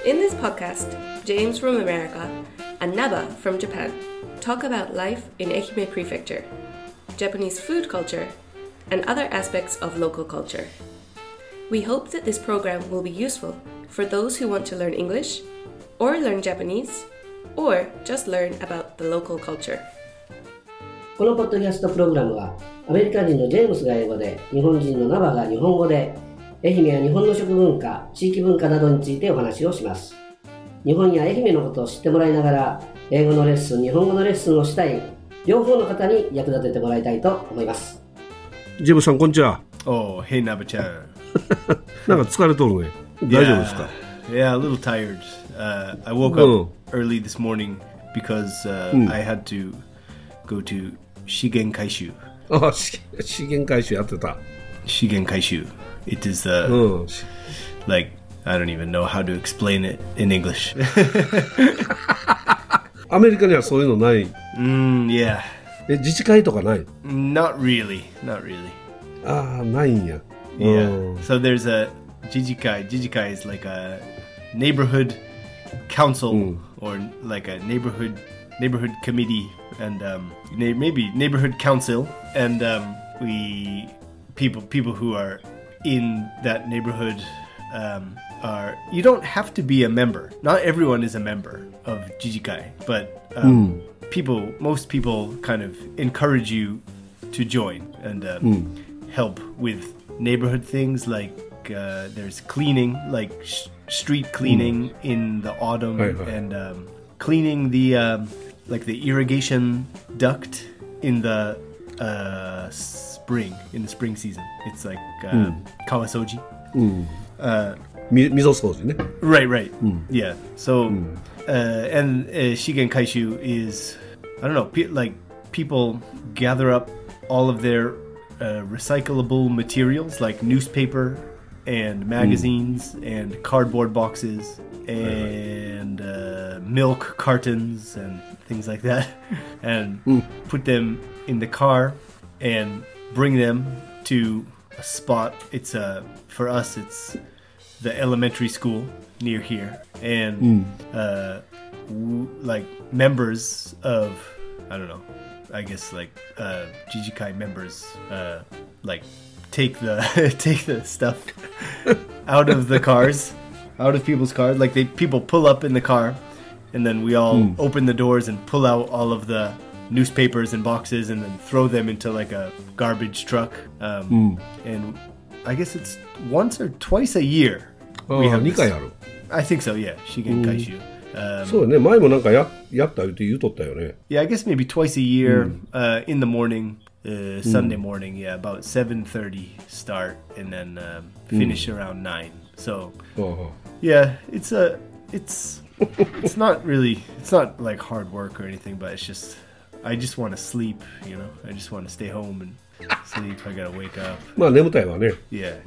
In this podcast, James from America and Naba from Japan talk about life in Ehime Prefecture, Japanese food culture, and other aspects of local culture. We hope that this program will be useful for those who want to learn English, or learn Japanese, or just learn about the local culture. このポッドキャストプログラムはアメリカ人のジェームスが英語で日本人のナバが日本語で愛媛や日本の食文化、地域文化などについてお話をします。日本や愛媛のことを知ってもらいながら英語のレッスン、日本語のレッスンをしたい両方の方に役立ててもらいたいと思います。 ジェームスさんこんにちは。 Oh, hey Naba-chan. なんか疲れとるね。大丈夫ですか？ Yeah, a little tired. I woke up early this morning because I had to go to Shigen Kaishu. あ、資源回収やってた。 Shigen Kaishu. It is like I don't even know how to explain it in English. アメリカにはそういうのない。 Yeah. 自治会とかない？ Not really. Not really. ああ、ないんや。 Yeah. So there's a Jijikai. Jijikai is like a neighborhood council or like a neighborhood committee and maybe neighborhood council and we people who are in that neighborhood are you don't have to be a member. Not everyone is a member of Jijikai, but most people kind of encourage you to join and help with neighborhood things like there's cleaning, like street cleaning in the autumn and cleaning the like the irrigation duct in the spring season. It's like kawasoji. 溝掃除ね。 Right. Yeah. So and Shigen Kaishu is I don't know, like people gather up all of their recyclable materials like newspaper and magazines and cardboard boxes and milk cartons and things like that and put them in the car and bring them to a spot. It's for us it's the elementary school near here and like members of I don't know, I guess like Jijikai members like take the stuff out of the cars, out of people's cars. Like people pull up in the car, and then we all open the doors and pull out all of the newspapers and boxes, and then throw them into like a garbage truck. And I guess it's once or twice a year. We have 2回ある。 I think so. Yeah, Shigen Kaishu. そうね。前もなんかやったって言うとったよね。 Yeah, I guess maybe twice a year in the morning. Sunday morning, yeah, about 7:30 start and then finish around 9. So, yeah, it's not like hard work or anything, but it's just I just want to sleep, you know. I just want to stay home and sleep. I gotta wake up. まあ眠たいわね。 Yeah.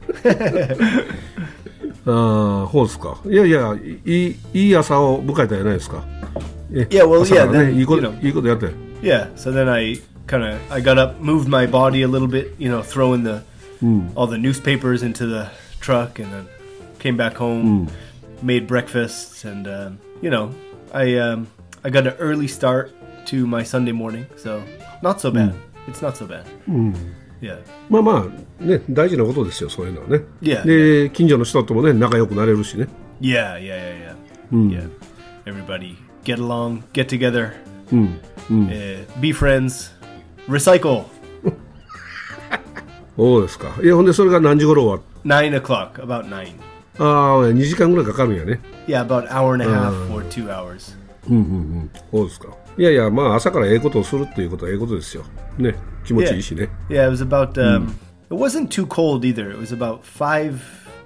ああ、そうですか。いやいや、いい朝を迎えたじゃないですか。 Yeah, well, yeah, then, いいことやって。 Yeah, so then I got up, moved my body a little bit, you know, throwing all the newspapers into the truck, and then came back home, made breakfast, and you know, I got an early start to my Sunday morning, so not so bad. It's not so bad. Yeah. まあまあね、大事なことですよ、そういうのはね。 Yeah. で、近所の人ともね、仲良くなれるしね。 Yeah. Yeah. Everybody get along, get together, be friends.Recycle. そうですか。いや、ほんでそれが何時頃終わる？ 9 o'clock, about 9. ああ、2時間ぐらいかかるんやね。 Yeah, about hour and a half or 2 hours. そうですか。いやいや、まあ朝からことをするっていうことはことですよ。ね、気持ちいいしね。 Yeah, it was about, it wasn't too cold either. It was about 5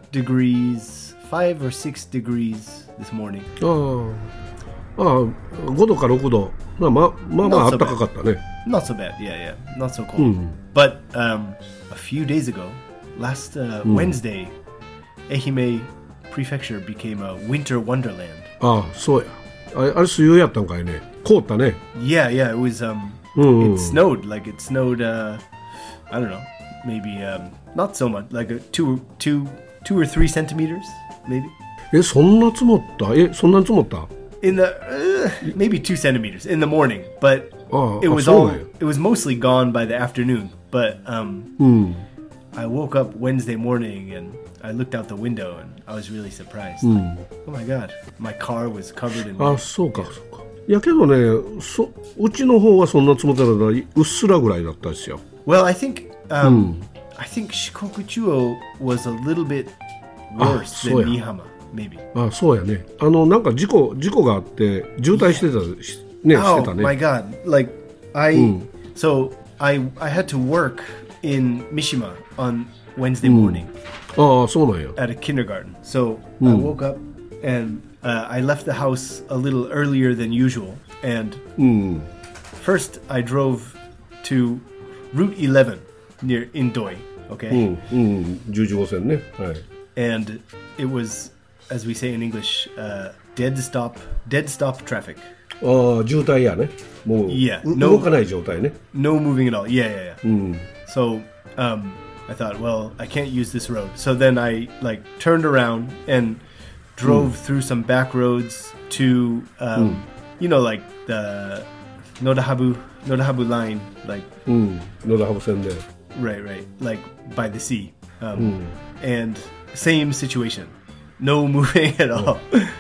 or 6 degrees this morning. ああ、5度か6度。まあ暖かかったね。 Not so bad, yeah. Not so cold. But a few days ago, last Wednesday, Ehime Prefecture became a winter wonderland. ああ、そうや。あれ水曜やったんかいね。凍ったね。 Yeah, it was, it snowed, like it snowed, I don't know, maybe not so much, like 2 or 3 centimeters, maybe. そんな積もった？そんなに積もった？ In the maybe 2 centimeters in the morning, but Oh, it was so all yeah. it was mostly gone by the afternoon. But I woke up Wednesday morning and I looked out the window and I was really surprised. Like, oh my god, my car was covered in あ、そうかそうか。いやけどね、うちの方はそんな積もってなかった。うっすらぐらいだったですよ。 Well, I think Shikokuchuo was a little bit worse than そうや。 Nihama, maybe. あ、そうやね。なんか事故があって渋滞してたね、してた Oh ね。 my god! Like so I had to work in Mishima on Wednesday morning ああ、そうなんや。 at a kindergarten. So I woke up and I left the house a little earlier than usual. And first I drove to Route 11 near Indoi. Okay, 11号線ね。はい。 and it was, as we say in English, dead stop traffic. ああ、渋滞やね。もう、 Yeah. 動かない状態ね。 No moving at all. Yeah. So I thought, well, I can't use this road. So then I like turned around and drove through some back roads to, you know, like the Nodahabu line, like 野田羽生線で。 right, like by the sea, and same situation, no moving at all.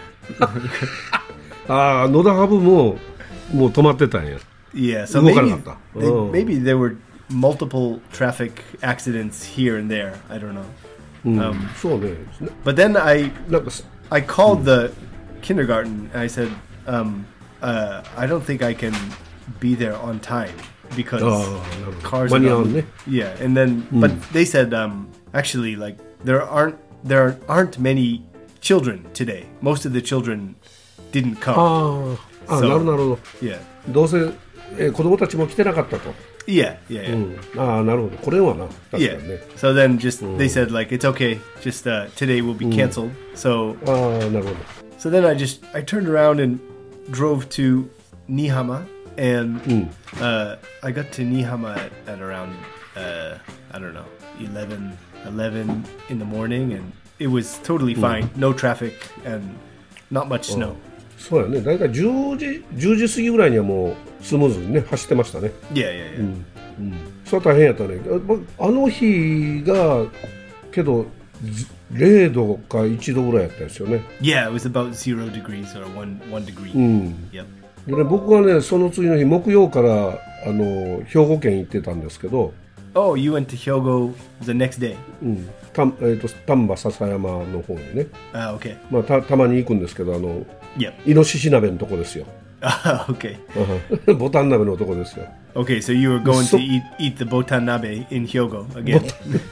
ああ、野田羽生もう止まってたんや。 Yeah, so 動かなかった。 maybe there were multiple traffic accidents here and there. I don't know. そうね。 But then I なんか called the kindergarten and I said, I don't think I can be there on time because cars are 間に合わんね。 yeah. And then, but they said, actually, like there aren't many children today. Most of the children didn't come. ああ、 So- なるほど。 Yeah, どうせ、子供たちも来てなかったと。 yeah. ああ、なるほど。これはな。確か Yeah. にね。 So then they said like it's okay. Just today will be canceled. So ああ、なるほど。 so then I turned around and drove to Nihama and I got to Nihama at around I don't know 11 in the morning and it was totally fine. No traffic and not much snow. そうやね。だいたい10時過ぎぐらいにはもうスムーズにね、走ってましたね。 Yeah. それは大変やったね。あの日が、けど、0度か1度ぐらいやったですよね。 Yeah, it was about 0 degrees or one degree. Yep. でね、僕はね、その次の日、木曜から兵庫県行ってたんですけど、 Oh, you went to Hyogo the next day. 丹波篠山の方にね、 Okay. まあ、たまに行くんですけど、 Yep. イノシシ鍋のとこですよ。 Okay. ボタン鍋のとこですよ。 Okay, so you were going to eat the botan nabe in Hyogo again.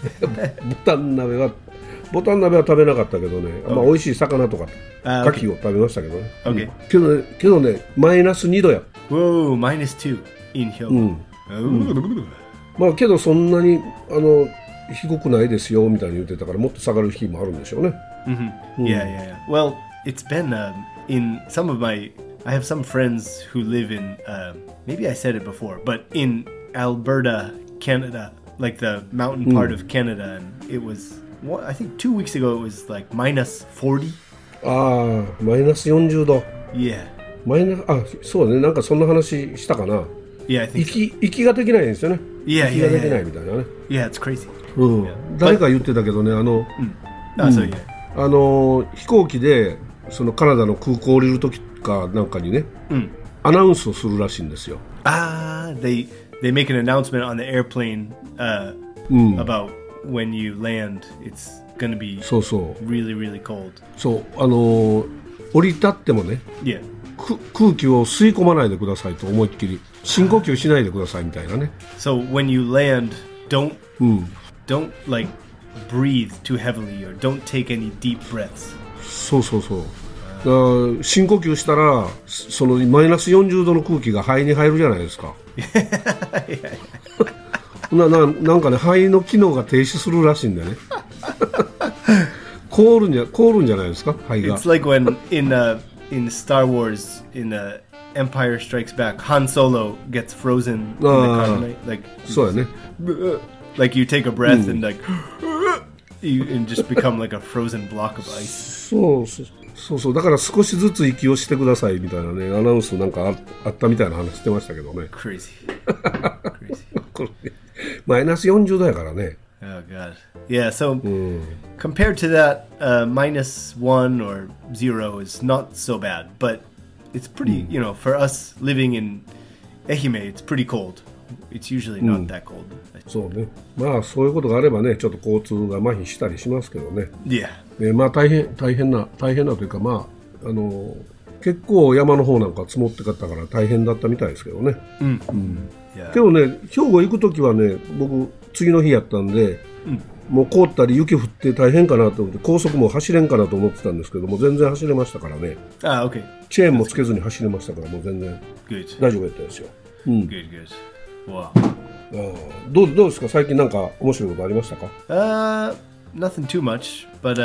ボタン鍋は食べなかったけどね、まあ、美味しい魚とかあ牡蠣を食べましたけどね。 Okay. けどね、マイナス2度や。 Whoa, -2 in Hyogo. Oh. まあけどそんなに低くないですよみたいに言ってたからもっと下がる日もあるんでしょうね。 Yeah. Well, it's been in some of I have some friends who live in, maybe I said it before, but in Alberta, Canada, like the mountain part of Canada, and it was, I think 2 weeks ago it was like -40. ああ、マイナス40度。 Yeah. そうね、なんかそんな話したかな。 Yeah, I think so. 息ができないんですよね。 Yeah, 息ができないみたいなね。 Yeah, it's crazy. 誰か言ってたけどね、 So yeah. 飛行機でそのカナダの空港降りる時かなんかにね、アナウンスをするらしいんですよ。 They make an announcement on the airplane about when you land, it's going to be そうそう really, really cold. そう降り立ってもね、 Yeah. 空気を吸い込まないでくださいと思いっきり深呼吸しないでくださいみたいなね。 So when you land, don't like breathe too heavily or don't take any deep breaths. そうだから深呼吸したらそのマイナス40度の空気が肺に入るじゃないですか。なんかね、肺の機能が停止するらしいんだよね。凍るんじゃないですか、肺が。 It's like when in Star Wars, in Empire Strikes Back, Han Solo gets frozen in the carbonite. Like そうやね。 like you take a breath and like and just become like a frozen block of ice. そうだから少しずつ息をしてくださいみたいなねアナウンスなんかあったみたいな話してましたけどね。 Crazy. これマイナス40度やからね。 Oh god. Yeah, so compared to that, -1 or 0 is not so bad, but it's pretty, for us living in Ehime, it's pretty cold. It's usually not that cold. そうね。まあそういうことがあればね、ちょっと交通が麻痺したりしますけどね。 Yeah. まあ大変なというか結構山の方なんか積もってかったから大変だったみたいですけどね。 Yeah. けどね、兵庫行くときはね、僕次の日やったんで、もう凍ったり雪降って大変かなと思って高速も走れんかなと思ってたんですけども全然走れましたからね。 Okay. チェーンもつけずに走れましたからもう全然大丈夫やったですよ。 Good. Wow. どうですか最近なんか面白いことありましたか ？Nothing too much, but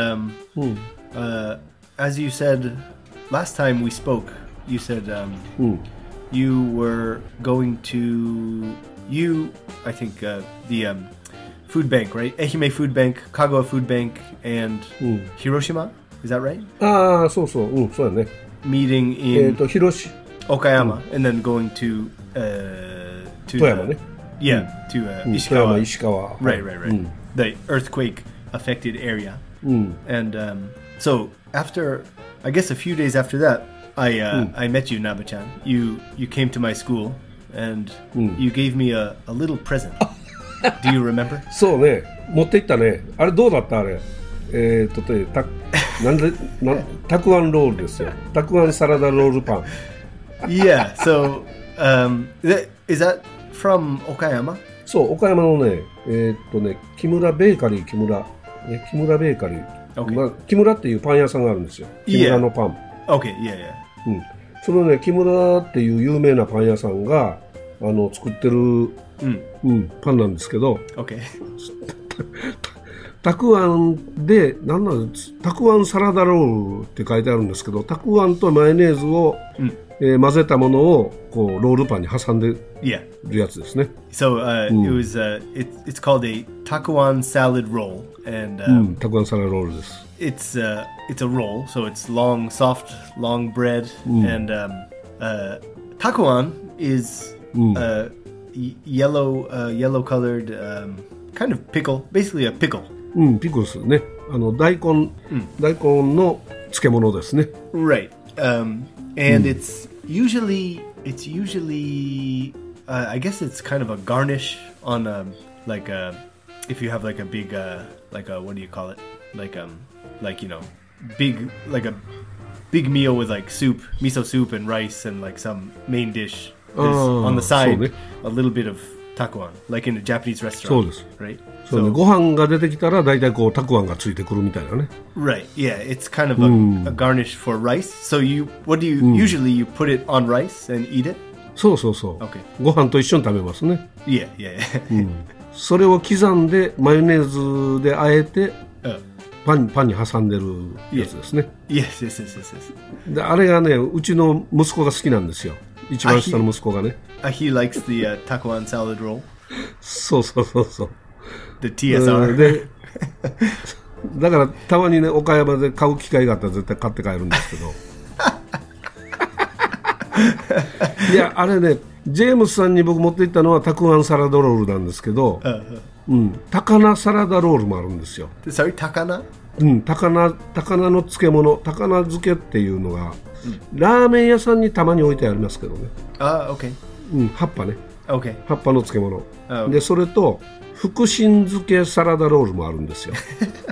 as you said last time we spoke, you said you were going to I think the food bank, right? Ehime Food Bank, Kagawa Food Bank, and Hiroshima. Is that right? そうそう、そうやね。 Meeting in Okayama, and then going to 富山ね。 Yeah, to 富 Ishikawa. 山、石川。 Right. The earthquake affected area. And so after, I guess a few days after that, I met you, Naba-chan. You came to my school, and you gave me a little present. Do you remember? そうね、持って行ったね。あれどうだったあれ。たくあんロールですよ。たくあんサラダロールパン。 Yeah. So, is that from Okayama? そう、岡山のね、木村ベーカリー、木村ベーカリー。 Okay. 木村っていうパン屋さんがあるんですよ。木村のパン。 Okay. Yeah. そのね、木村っていう有名なパン屋さんが作ってる、パンなんですけど、 Okay. たくあんでたくあんサラダロールって書いてあるんですけど、たくあんとマヨネーズを、混ぜたものをこうロールパンに挟んでるやつですね。 So it was it's called a takuan salad roll, and たくあんサラダロールです。 It's a roll, so it's long, soft, long bread, and takuan is yellow colored kind of pickle, basically a pickle. ピクルスね。大根の漬物ですね。 Right. And it's usually I guess it's kind of a garnish on if you have like a big what do you call it, big meal with like soup, miso soup and rice and like some main dish. There's on the side a little bit of takuan, like in a Japanese restaurant. そうです。 Right. そうね、ご飯が出てきたら大体こうたくあんがついてくるみたいなね。 Right. Yeah, it's kind of a garnish for rice. So what do you usually you put it on rice and eat it? そう。 Okay. ご飯と一緒に食べますね。 Yeah. それを刻んでマヨネーズで和えてパンに挟んでるやつですね。 Yes. であれがね、うちの息子が好きなんですよ。一番下の息子がね。 He likes the takuan salad roll. そう。 The TSR. でだからたまにね岡山で買う機会があったら絶対買って帰るんですけどいやあれねジェームスさんに僕持って行ったのはたくあんサラダロールなんですけど、高菜サラダロールもあるんですよ。 Sorry, 高菜？ 高菜の漬物、高菜漬けっていうのが、ラーメン屋さんにたまに置いてありますけどね。 Okay. 葉っぱね。 Okay. 葉っぱの漬物。でそれと福神漬けサラダロールもあるんですよ。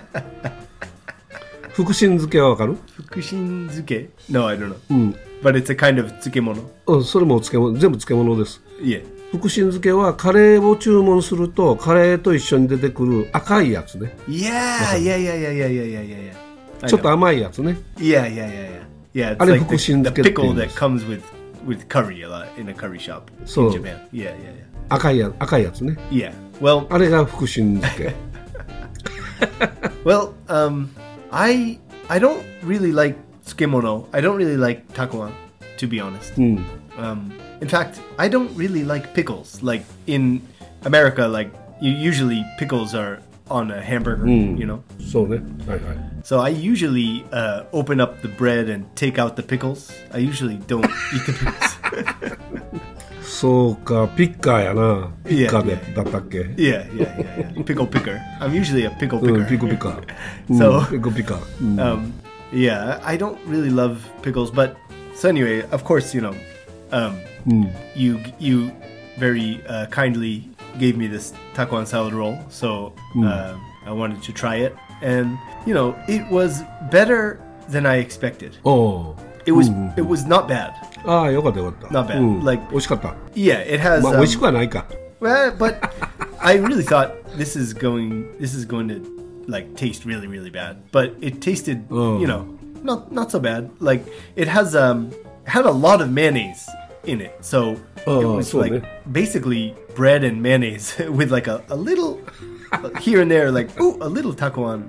福神漬けはわかる？ 福神漬け No, I don't know. But it's a kind of 漬物。 それも全部漬物です。 Yeah. 福神漬けはカレーを注文するとカレーと一緒に出てくる赤いやつね。 Yeah. ちょっと甘いやつね。 Yeah. It's あれ like 福神漬 the けって言う pickle んで that す。 comes with curry a lot in a curry shop in そう。 Japan. Yeah. 赤いやつね。 Yeah. Well, あれが福神漬け。 Well, I don't really like tsukemono. I don't really like takuan, to be honest. In fact, I don't really like pickles. Like in America, like usually pickles are on a hamburger, you know? そうね。はいはい。 So I usually open up the bread and take out the pickles. I usually don't eat the pickles. そうか、ピッカーやな。ピッカーで、だったっけ Yeah. Pickle picker. I'm usually a pickle picker. ピコピカ。 So, ピコピカ。 yeah, I don't really love pickles, but so anyway, of course, you know, you very kindly gave me this takuan salad roll, so I wanted to try it, and you know, it was better than I expected. おー It was not bad. ああ、よかったよかった。 Not bad. Like 美味しかった。 yeah, it has. まあ、美味しくはないか。 Well, but I really thought this is going to like taste really really bad, but it tasted you know not so bad. Like it has had a lot of mayonnaise in it, so it was like basically bread and mayonnaise with like a little here and there, like a little takuan,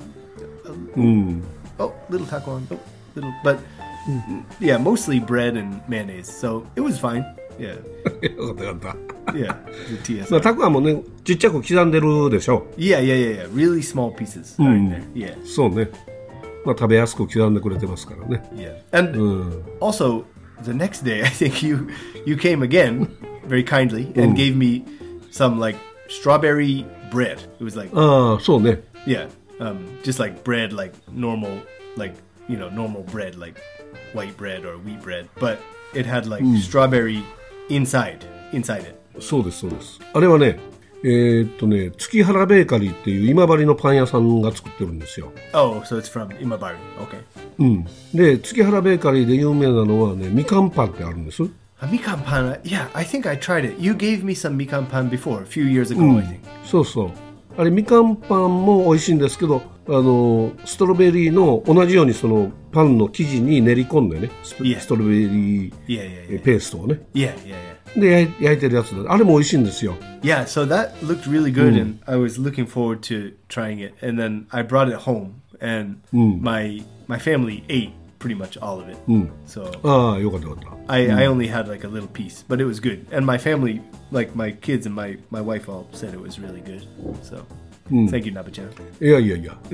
little takuan, little, but yeah, mostly bread and mayonnaise. So it was fine. Yeah. よかったよかった。 Yeah, the TSI. まあ、たくあんもね、ちっちゃく刻んでるでしょ。 Yeah. Really small pieces are in there. Yeah. そうね。まあ、食べやすく刻んでくれてますからね。 Yeah. And also, the next day, I think you came again very kindly and gave me some like strawberry bread. It was like ああ、そうね。 yeah, just like bread, like normal, like you know, normal bread, like white bread or wheat bread, but it had like strawberry inside it. そうですそうです。あれはね、月原ベーカリーっていう今治のパン屋さんが作ってるんですよ。 Oh, so it's from Imabari. Okay. で、月原ベーカリーで有名なのはね、みかんパンってあるんです。 Mikan pan, yeah, I think I tried it. You gave me some mikan pan before, a few years ago, I think. そうそう。あれみかんパンも美味しいんですけど、ストロベリーの同じようにそのパンの生地に練り込んでね、ストロベリーペーストをね。 Yeah. で焼いてるやつだ。あれも美味しいんですよ。 Yeah, so that looked really good, and I was looking forward to trying it. And then I brought it home, and my family ate pretty much all of it. So ああ、よかったよかった。 I only had like a little piece, but it was good. And my family, like my kids and my wife, all said it was really good. So thank you, Naba-chan. いや。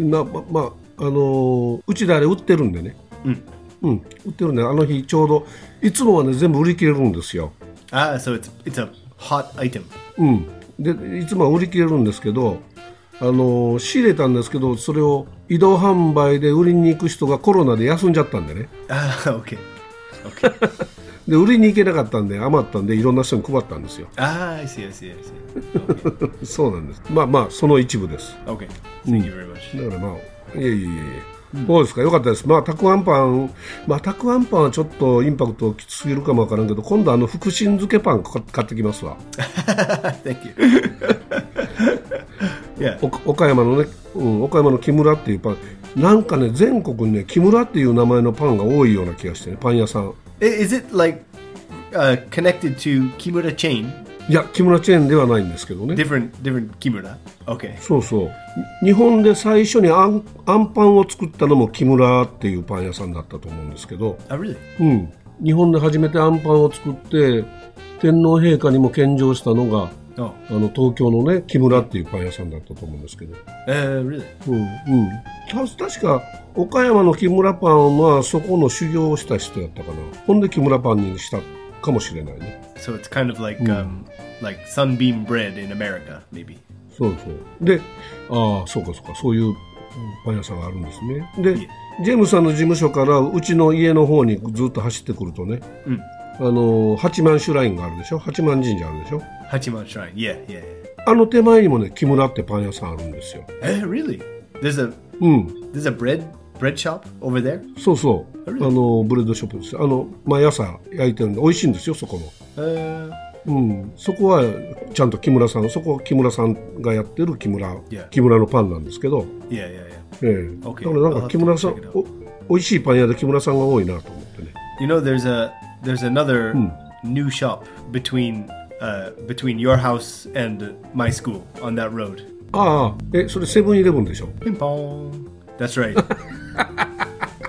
うちであれ売ってるんでね。売ってるんで、あの日ちょうどいつもはね全部売り切れるんですよ。 Ah, so it's a hot item. でいつもは売り切れるんですけど、仕入れたんですけど、それを移動販売で売りに行く人がコロナで休んじゃったんでね。 Ah, okay. で売りに行けなかったんで余ったんでいろんな人に配ったんですよ。 Ah, I see. Okay. そうなんです。まあその一部です。 Okay. Thank you very much. だからまあいえ。そうですか、よかったです。まあたくあんパンはちょっとインパクトきつすぎるかもわからんけど、今度福神漬けパン買ってきますわ。 Thank you. Yeah. 岡山のね、岡山の木村っていうパン、なんかね全国にね木村っていう名前のパンが多いような気がしてね、パン屋さん。 Is it like connected to Kimura chain? いや、木村チェーンではないんですけどね。 Different Kimura. Okay. そうそう。日本で最初にあんパンを作ったのも木村っていうパン屋さんだったと思うんですけど。 Oh, really? 日本で初めてあんパンを作って天皇陛下にも献上したのが、東京のね木村っていうパン屋さんだったと思うんですけど。 Really? 確か岡山の木村パンはそこの修行をした人やったかな。ほんで木村パンにしたかもしれないね。 So it's kind of like like sunbeam bread in America, maybe. そうで、そうかそういうパン屋さんがあるんですね。で、ジェームスさんの事務所からうちの家の方にずっと走ってくるとね、八幡シュラインがあるでしょ。八幡神社あるでしょ。 八幡 Shrine, yeah. あの手前にもね木村ってパン屋さんあるんですよ。 Really? There's a bread shop over there? そうブレッドショップです。毎朝焼いてるんで美味しいんですよ、そこの。そこはちゃんと木村さん、そこは木村さんがやってる木村のパンなんですけど。 Yeah. だからなんか木村さん、美味しいパン屋で木村さんが多いなと思ってね。 You know, there's another new shop between your house and my school on that road. それセブンイレブンでしょ。 ピンポーン。That's right.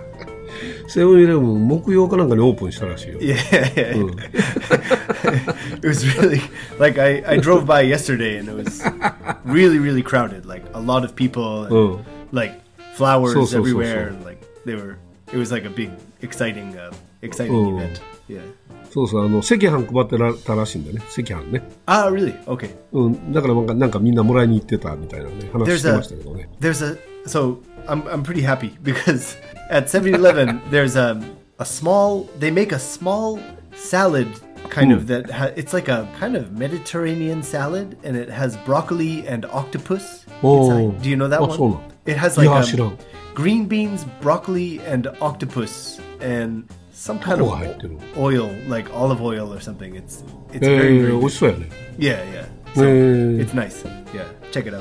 セブンイレブン木曜かなんかにオープンしたらしいよ。 Yeah. It was really like I drove by yesterday and it was really, really crowded. Like a lot of people and like flowers everywhere and like it was like a big exciting event. Yeah. そうそう、赤飯配ってたらしいんだね、赤飯ね。 Ah, really? Okay. だからなんかみんなもらいに行ってたみたいなね、話してましたけどね。 So I'm pretty happy because at 7-Eleven there's a small, they make a small salad kind of that it's like a kind of Mediterranean salad and it has broccoli and octopus inside. Do you know that one? そうなの。 It has like 知らん。 green beans, broccoli, and octopus, and some kind of oil, like olive oil or something. It's very, very 美味しそうやね。 Yeah. So it's nice. Yeah, check it out.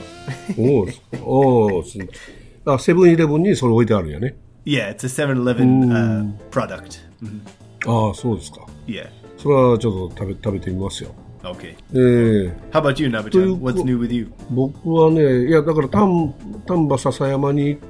セブンイレブンにそれ置いてあるんやね。 Yeah, it's a 7-Eleven product. ああ、そうですか。 Yeah. それはちょっと食べてみますよ。 Okay. How about you, Naba-chan? What's new with you? 僕はね、いやだから丹波篠山に行って、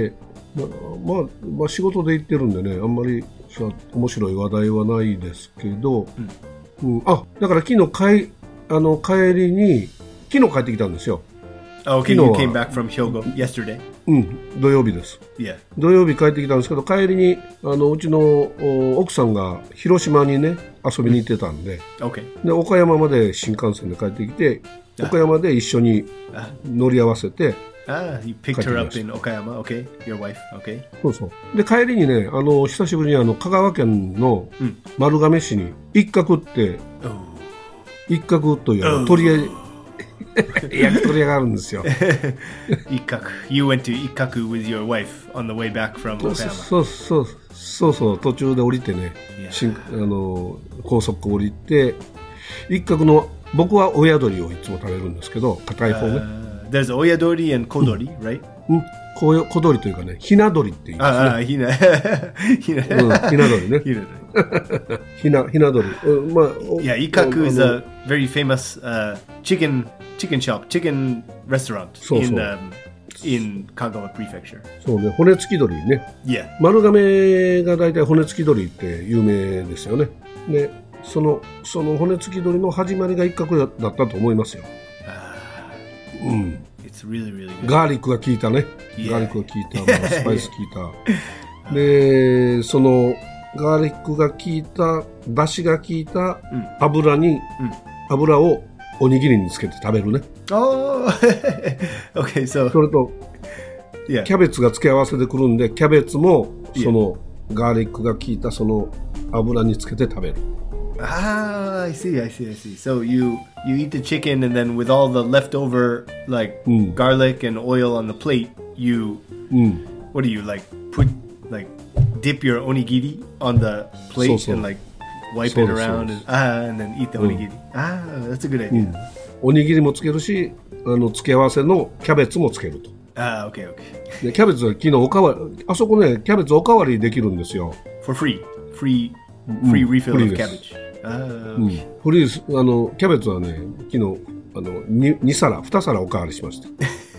まあ仕事で行ってるんでね、あんまり面白い話題はないですけど、だから昨日帰りに昨日帰ってきたんですよ。 Okay, you came back from Hyogo yesterday. 土曜日です。 Yeah. 土曜日帰ってきたんですけど、帰りにうちの奥さんが広島にね遊びに行ってたんで、で岡山まで新幹線で帰ってきて、岡山で一緒に乗り合わせて。 You picked her up in Okayama, okay? Your wife, okay? そうそう。で帰りにね、久しぶりに香川県の丸亀市に一角という焼き鳥屋があるんですよ。 一角。You went to 一角 with your wife on the way back from Okayama. そう途中で降りてね、高速降りて一角の僕は親鳥をいつも食べるんですけど、硬い方ね。 There's oyadori and kodori, right? 小鳥というかね、ひな鳥って言うんですね。ひな鳥ね。ひな鳥。 Yeah, Ikaku is a very famous chicken restaurant in Kagawa Prefecture. そうね、骨付き鳥ね。 Yeah. 丸亀がだいたい骨付き鳥って有名ですよね。で、その骨付き鳥の始まりが一角だったと思いますよ。 It's really, really good. ガーリックが効いたね。ガーリックが効いた、スパイス効いた。で、そのガーリックが効いた、出汁が効いた油をおにぎりにつけて食べるね。 Okay, so それとキャベツが付け合わせてくるんで、キャベツもそのガーリックが効いたその油につけて食べる。 I see. So you eat the chicken and then with all the leftover like garlic and oil on the plate, you what do you like dip your onigiri on the plate and like wipe it around and then eat the onigiri. That's a good idea. おにぎりもつけるし、付け合わせのキャベツもつけると。 Okay. でキャベツは昨日あそこね、キャベツおかわりできるんですよ。 For free refill of cabbage. フリーズキャベツはね、昨日2皿おかわりしました。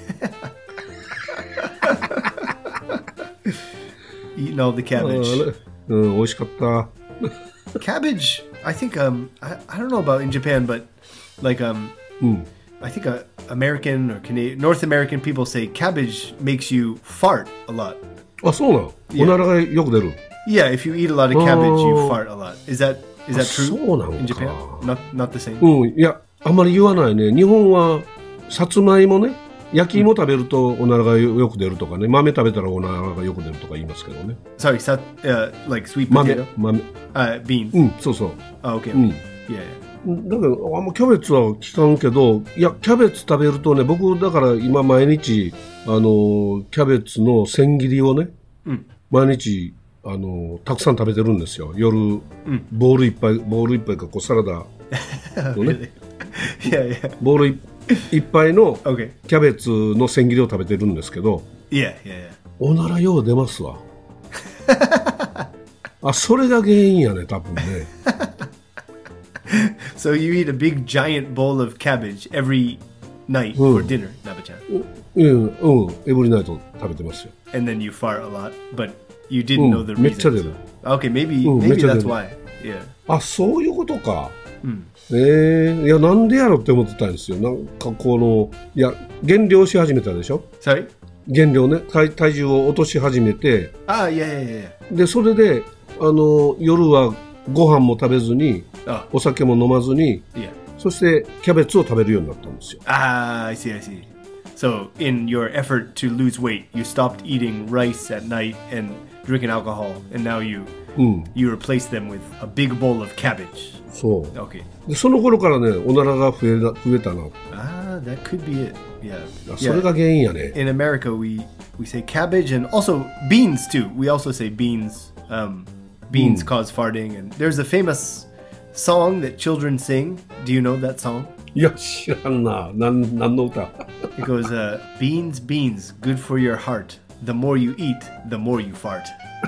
Eating all the cabbage. 美味しかった。 Cabbage, I think I don't know about in Japan, but like I think American or Canadian, North American people say cabbage makes you fart a lot. あ、そうなの。おならがよく出る。 Yeah, if you eat a lot of cabbage, you fart a lot. Is that true? そうなのか。 In Japan? Not the same? いや、あんまり言わないね。日本はさつまいもね、焼き芋食べるとおならがよく出るとかね、豆食べたらおならがよく出るとか言いますけどね。 Sorry, like sweet potato? 豆。 beans. そうそう。 Okay. Yeah. だけどあんまキャベツは効かんけど、いやキャベツ食べるとね、僕だから今毎日キャベツの千切りをね、毎日たくさん食べてるんですよ。夜、ボール一杯かこうサラダのね、ボール一杯のキャベツの千切りを食べてるんですけど、おならよう出ますわ。それが原因やね、多分ね。 So you eat a big giant bowl of cabbage every night for dinner, Naba-chan? Every night 食べてますよ。 And then you fart a lot, but you didn't know the reason. めっちゃ出る。 Okay, maybe that's why. Yeah. そういうことか。 いや、なんでやろって思ってたんですよ。なんかいや、減量し始めたでしょ。 Sorry? 減量ね、体重を落とし始めて、で、それで、夜はご飯も食べずに、お酒も飲まずに、そしてキャベツを食べるようになったんですよ。 I see. So, in your effort to lose weight, you stopped eating rice at night and drinking alcohol, and now you replace them with a big bowl of cabbage. そう。 Okay. で、その頃からね、おならが増えたな。 That could be it. Yeah. それが原因やね。 In America, we say cabbage and also beans too. We also say beans. Beans cause farting, and there's a famous song that children sing. Do you know that song? いや、知らんな。何の歌？ It goes, beans, beans, good for your heart. The more you eat, the more you fart.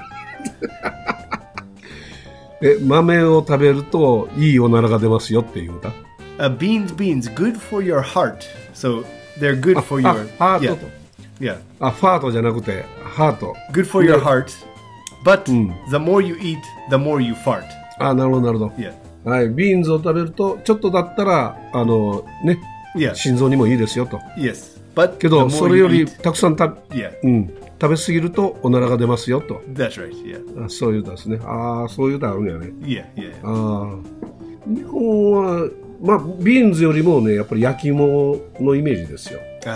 豆を食べるといいおならが出ますよっていう歌。 Beans, beans, good for your heart. So they're good for your ハートと。 Yeah. ファートじゃなくてハート。 Good for your heart. But the more you eat, the more you fart. なるほどなるほど。 Yeah. はい、ビーンズを食べるとちょっとだったらね、心臓にもいいですよと。 Yes. But けどそれよりたくさん食べ過ぎるとおならが出ますよと。 That's right. Yeah. そういう歌ですね。そういう歌あるんやね。 Yeah. 日本はまあビーンズよりもねやっぱり焼き芋のイメージですよ。 The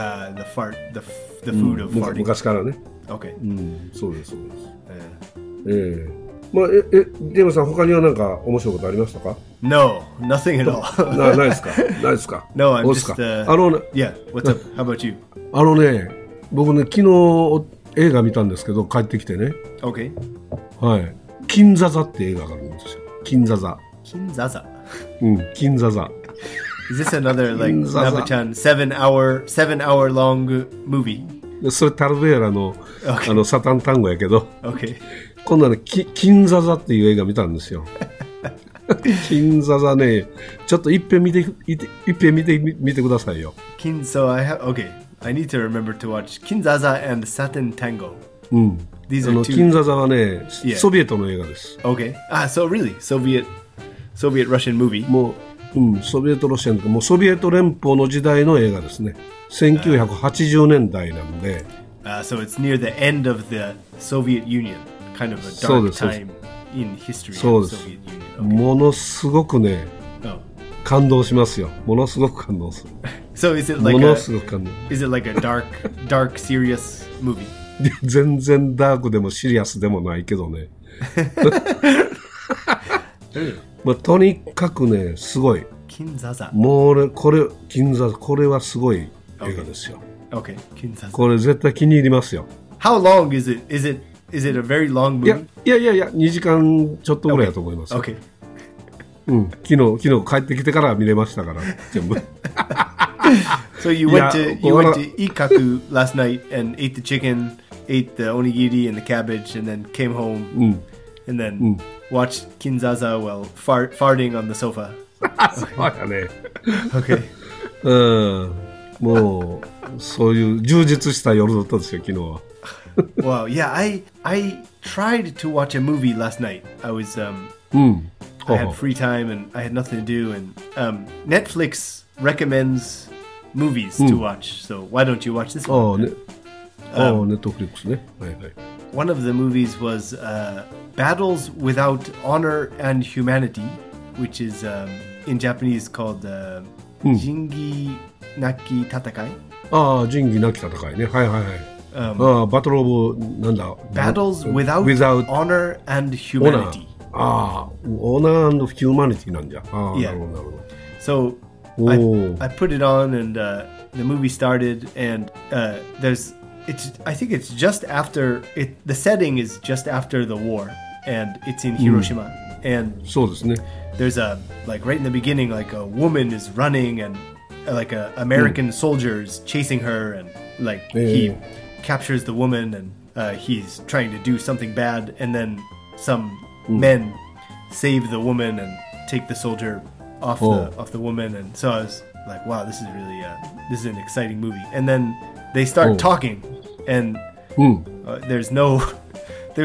food of farting. 昔からね。 Okay. そうですそうです。まあ、ジェームさん他には何か面白いことありましたか？ No, nothing at all. ないですか？ないですか？ No, I'm just. Yeah. What's up? How about you? 僕ね昨日映画見たんですけど帰ってきてね。 Okay. はい。金座座って映画があるんですよ。金座座。 金座座。 金座座。 Is this another like Naba-chan 7-hour long movie? それタルベーラの、サタン単語やけど。 Okay. 今度はね、金座座っていう映画見たんですよ。金座座ね、ちょっと一遍見てくださいよ。 So I need to remember to watch Kinzaza and Satin Tango. These are two. 金座座はね、ソビエトの映画です。 Okay. So really, Soviet Russian movie. もう、ソビエトロシアンとか、もうソビエト連邦の時代の映画ですね。1980年代なんで。 So it's near the end of the Soviet Union.Kind of a dark time in history of the Soviet Union. ものすごくね、感動しますよ。ものすごく感動する。 So is it like a dark, serious movie? 全然ダークでもシリアスでもないけどね。まあ、とにかくね、すごい。 金座座。 もう金座座、これはすごい映画ですよ。 Okay, 金座座。 これ絶対気に入りますよ。 How long is it? Is it a very long movie? いや、2時間ちょっとぐらいだと思います。 Okay. 昨日帰ってきてから見れましたから、全部。 So you went to Ikaku last night and ate the chicken, ate the onigiri and the cabbage, and then came home and then watched Kinzaza while farting on the sofa. そうやね。 Okay. もうそういう充実した夜だったんですよ昨日は。 Wow, yeah, I tried to watch a movie last night. I had free time and I had nothing to do, and Netflix recommends movies to watch. So why don't you watch this one? Netflix ね。はいはい。 One of the movies was Battles Without Honor and Humanity, which is in Japanese called Jingi Naki Tatakai. 仁義なき戦いね。はいはいはい。バトルオブなんだ。 Battles without honor and humanity. オーナー&ヒューマニティなんじゃ。なるほどなるほど。 So I put it on and the movie started and I think it's just after the setting is just after the war and it's in Hiroshima and そうですね。 There's like right in the beginning like a woman is running and like a American soldiers chasing her and like he captures the woman and he's trying to do something bad and then some men save the woman and take the soldier off the woman and so I was like wow this is an exciting movie and then they start talking and there's no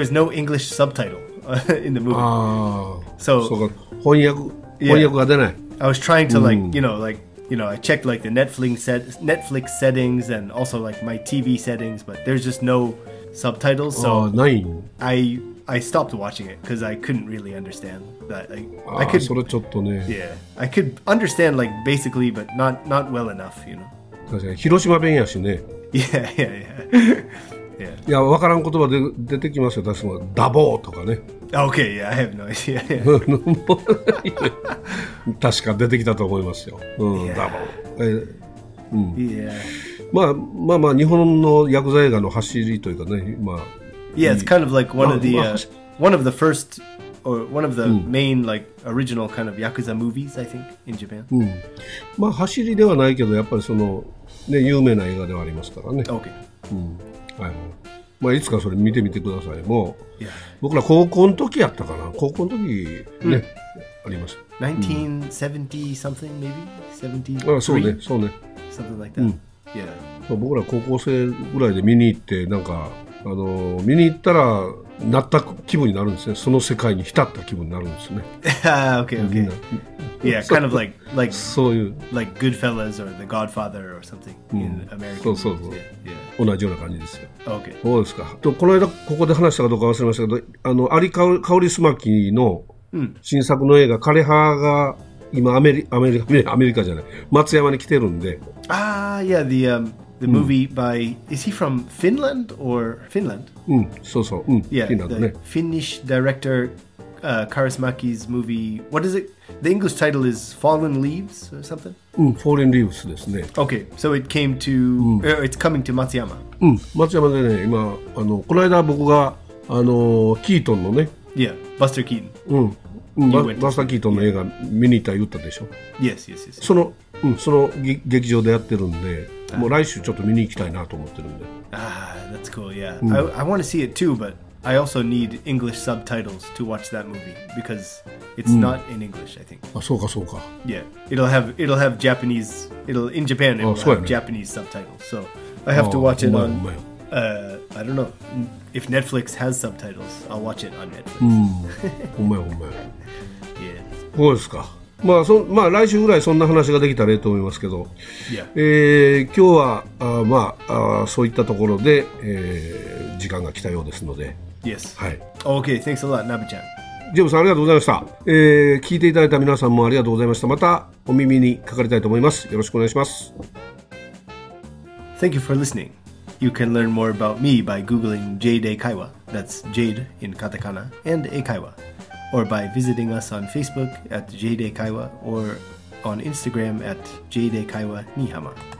English subtitle in the movie. So 翻訳が出ない。 I was trying to I checked like the Netflix settings and also like my TV settings, but there's just no subtitles. So I stopped watching it because I couldn't really understand that. I could, それちょっとね。 Yeah, I could understand like basically, but not well enough, you know. 確かに広島弁やしね。 Yeah. いや、わからん言葉で出てきますよ。確かにダボーとかね。 Okay, yeah, I have no idea. 確か出てきたと思いますよ。ダボー。 Yeah. まあ日本のヤクザ映画の走りというかね。 Yeah, it's kind of like one of the first or one of the main like original kind of Yakuza movies, I think, in Japan. まあ走りではないけどやっぱりそのね有名な映画ではありますからね。 Okay. はい。まあいつかそれ見てみてください。もう僕ら高校の時やったかな。高校の時ね、ありました。 1970 something maybe 73. そうね。 Something like that. Yeah. 僕ら高校生ぐらいで見に行ってなんか見に行ったらなった気分になるんですね。その世界に浸った気分になるんですね。 Okay. Yeah, kind of like そういう like Goodfellas or The Godfather or something in America. そう。同じような感じですよ。 Okay. そうですか。この間ここで話したかどうか忘れましたけど、アリ・カウリスマキの新作の映画枯葉が今アメリカじゃない松山に来てるんで。 Yeah, the movie by, is he from Finland or Finland? そう。 Yeah, フィンランドね。 the Finnish director Kaurismäki's movie. What is it? The English title is Fallen Leaves or something? Fallen Leaves ですね。 Okay, so it came to, it's coming to Matsuyama. 松山でね、今この間僕がキートンのね。 Yeah, Buster Keaton. バスター・キートンの映画見に行った言ったでしょ。 Yes. その劇場でやってるんで、もう来週ちょっと見に行きたいなと思ってるんで。 That's cool. Yeah, I want to see it too, but I also need English subtitles to watch that movie because it's not in English, I think. そうか。 Yeah, it'll have Japanese. In Japan it will have Japanese subtitles. So I have to watch it on. I don't know if Netflix has subtitles. I'll watch it on Netflix. ほんまや。 Yeah. そうですか。まあ来週ぐらいそんな話ができたらいいと思いますけど、今日はそういったところで、時間が来たようですので。 Yes. はい。 Okay, thanks a lot, Nabe-chan. ジェームさんありがとうございました。聞いていただいた皆さんもありがとうございました。またお耳にかかりたいと思います。よろしくお願いします。 Thank you for listening. You can learn more about me by Googling Jade Eikaiwa. That's Jade in katakana and Eikaiwa. Or by visiting us on Facebook at Jade Eikaiwa or on Instagram at Jade Eikaiwa Nihama.